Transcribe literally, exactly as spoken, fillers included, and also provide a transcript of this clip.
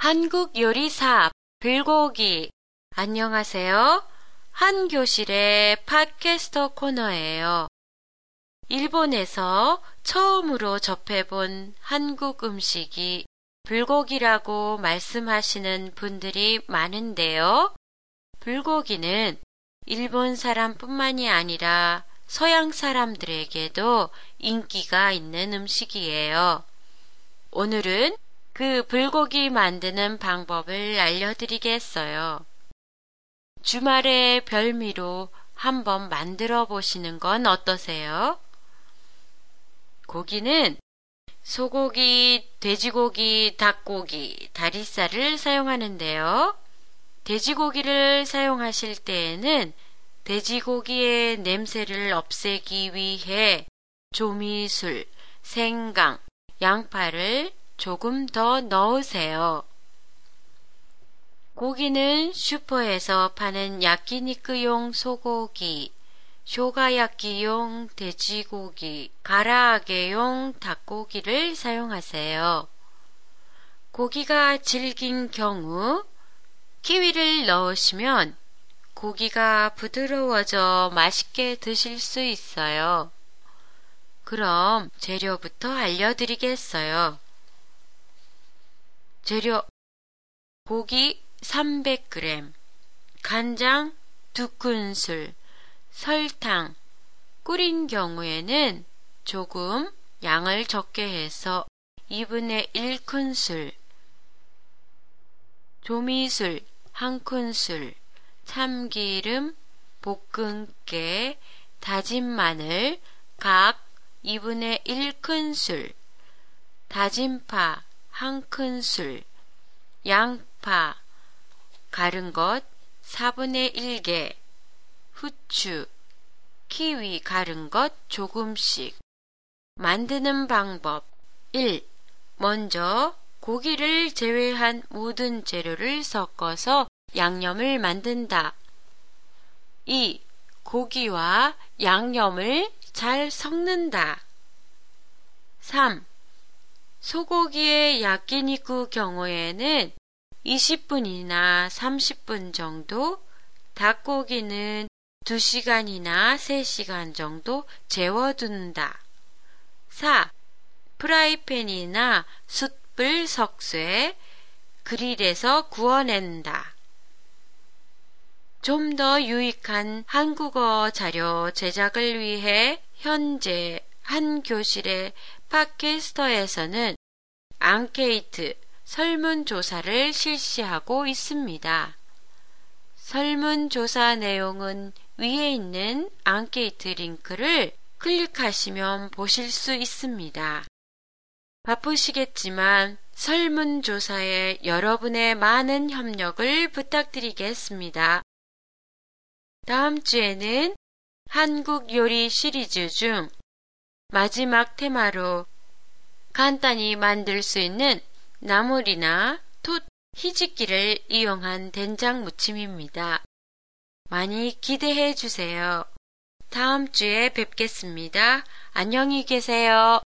한국 요리사 불고기. 안녕하세요. 한교실의 팟캐스터 코너예요. 일본에서 처음으로 접해본 한국 음식이 불고기라고 말씀하시는 분들이 많은데요. 불고기는 일본 사람뿐만이 아니라 서양 사람들에게도 인기가 있는 음식이에요. 오늘은 그 불고기 만드는 방법을 알려드리겠어요. 주말의 별미로 한번 만들어 보시는 건 어떠세요? 고기는 소고기, 돼지고기, 닭고기, 다리살을 사용하는데요. 돼지고기를 사용하실 때에는 돼지고기의 냄새를 없애기 위해 조미술, 생강, 양파를 조금 더 넣으세요. 고기는 슈퍼에서 파는 야끼니쿠용 소고기, 쇼가야끼용 돼지고기, 가라아게용 닭고기를 사용하세요. 고기가 질긴 경우 키위를 넣으시면 고기가 부드러워져 맛있게 드실 수 있어요. 그럼 재료부터 알려드리겠어요. 재료: 고기 삼백 그램, 간장 두 큰술, 설탕, 끓인 경우에는 조금 양을 적게 해서 이분의 일 큰술, 조미술 한 큰술, 참기름, 볶음깨, 다진 마늘 각 이분의 일 큰술, 다진 파 한 큰술, 양파 갈은 것 사분의 일 개, 후추, 키위 갈은 것 조금씩. 만드는 방법: 일. 먼저 고기를 제외한 모든 재료를 섞어서 양념을 만든다. 이. 고기와 양념을 잘 섞는다. 삼. 소고기의 야끼니쿠 경우에는 이십 분이나 삼십 분 정도, 닭고기는 두 시간이나 세 시간 정도 재워둔다. 사. 프라이팬이나 숯불 석쇠, 그릴에서 구워낸다. 좀 더 유익한 한국어 자료 제작을 위해 현재 한 교실의 팟캐스터에서는 앙케이트 설문조사를 실시하고 있습니다. 설문조사 내용은 위에 있는 앙케이트 링크를 클릭하시면 보실 수 있습니다. 바쁘시겠지만 설문조사에 여러분의 많은 협력을 부탁드리겠습니다. 다음 주에는 한국 요리 시리즈 중 마지막 테마로 간단히 만들 수 있는 나물이나 톳, 희집기를 이용한 된장 무침입니다. 많이 기대해 주세요. 다음 주에 뵙겠습니다. 안녕히 계세요.